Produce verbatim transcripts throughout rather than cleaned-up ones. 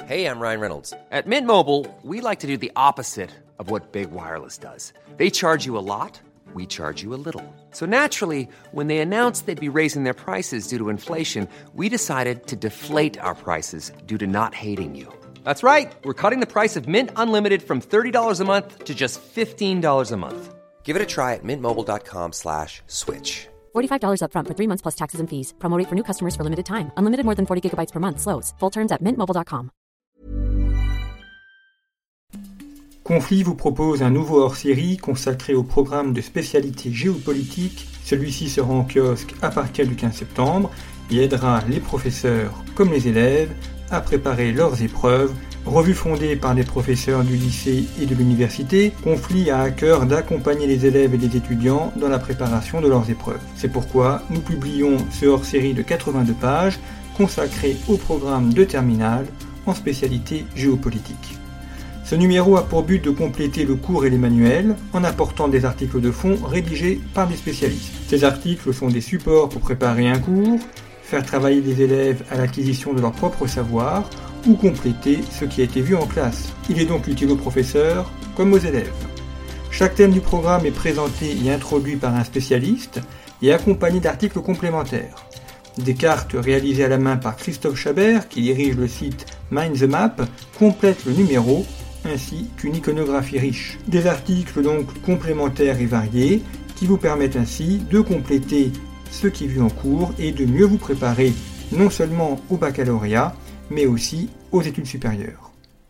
Hey, I'm Ryan Reynolds. At Mint Mobile, we like to do the opposite of what Big Wireless does. They charge you a lot, we charge you a little. So naturally, when they announced they'd be raising their prices due to inflation, we decided to deflate our prices due to not hating you. That's right. We're cutting the price of Mint Unlimited from thirty dollars a month to just fifteen dollars a month. Give it a try at mintmobile.com slash switch. forty-five dollars up front for three months plus taxes and fees. Promo rate for new customers for limited time. Unlimited more than forty gigabytes per month. Slows full terms at mint mobile dot com. Conflit vous propose un nouveau hors-série consacré au programme de spécialité géopolitique. Celui-ci sera en kiosque à partir du quinze septembre et aidera les professeurs comme les élèves à préparer leurs épreuves. Revue fondée par des professeurs du lycée et de l'université, Conflit a à cœur d'accompagner les élèves et les étudiants dans la préparation de leurs épreuves. C'est pourquoi nous publions ce hors-série de quatre-vingt-deux pages consacré au programme de terminale en spécialité géopolitique. Ce numéro a pour but de compléter le cours et les manuels en apportant des articles de fond rédigés par des spécialistes. Ces articles sont des supports pour préparer un cours, faire travailler des élèves à l'acquisition de leur propre savoir ou compléter ce qui a été vu en classe. Il est donc utile aux professeurs comme aux élèves. Chaque thème du programme est présenté et introduit par un spécialiste et accompagné d'articles complémentaires. Des cartes réalisées à la main par Christophe Chabert, qui dirige le site Mind the Map, complètent le numéro, ainsi qu'une iconographie riche. Des articles donc complémentaires et variés, qui vous permettent ainsi de compléter ce qui est vu en cours et de mieux vous préparer non seulement au baccalauréat, mais aussi aux études supérieures.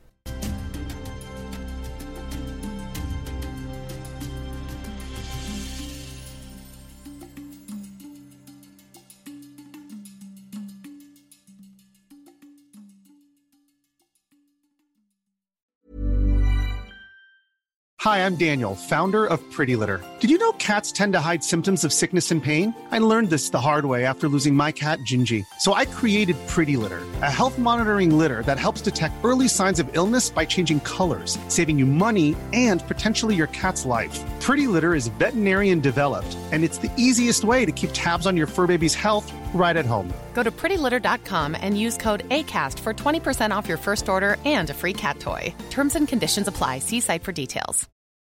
Hi, I'm Daniel, founder of Pretty Litter. Did you know cats tend to hide symptoms of sickness and pain? I learned this the hard way after losing my cat, Gingy. So I created Pretty Litter, a health monitoring litter that helps detect early signs of illness by changing colors, saving you money and potentially your cat's life. Pretty Litter is veterinarian developed, and it's the easiest way to keep tabs on your fur baby's health right at home. Go to pretty litter dot com and use code ACAST for twenty percent off your first order and a free cat toy. Terms and conditions apply. See site for details.